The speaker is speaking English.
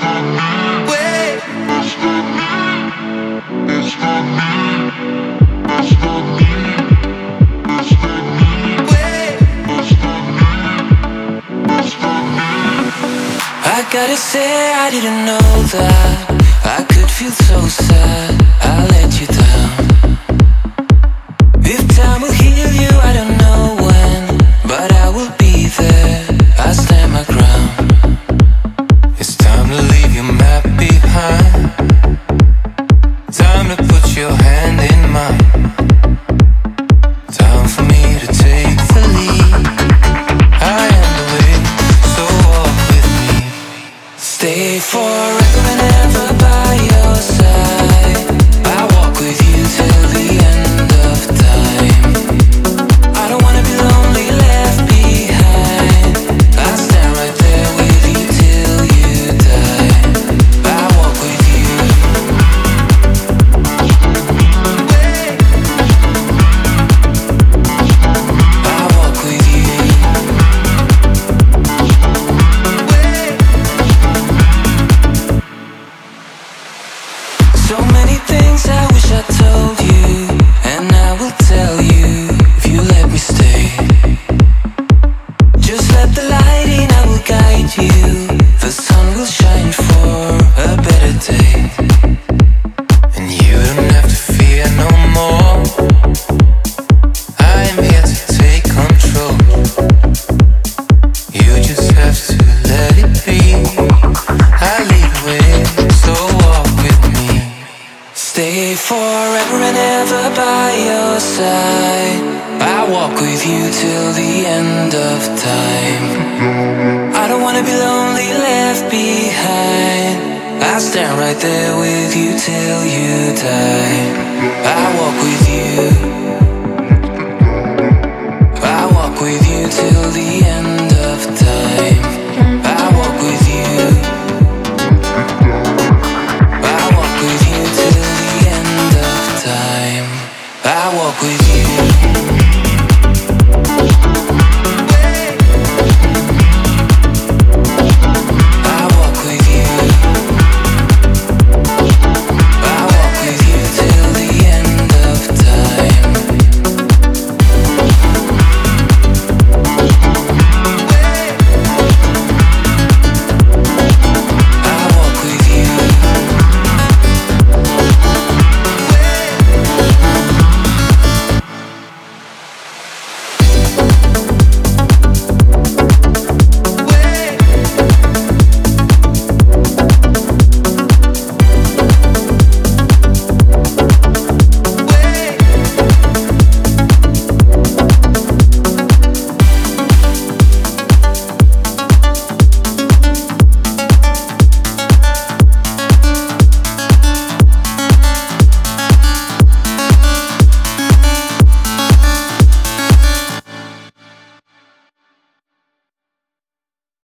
I gotta say I didn't know that I could feel so sad. I let you down. If time will heal you, I don't know when, but I will be there. I stand my ground. It's time to leave your map behind. Time to put your hand in mine. Time for me to take the lead. I am the way, so walk with me. Stay forever and ever by your side. I walk with you till the end of time. I don't wanna be lonely, left behind. I stand right there with you till you die. I walk with you. I walk with you. So many things I wish I told you, and I will tell you if you let me stay. Just let the light in, I will guide you. The sun will shine for a better day, and you don't have to fear no more. I am here to take control. You just have to let it be. I lead the way, so walk with me. Stay forever and ever by your side. I walk with you till the end of time. I don't wanna be lonely, left behind. I stand right there with you till you die. I walk with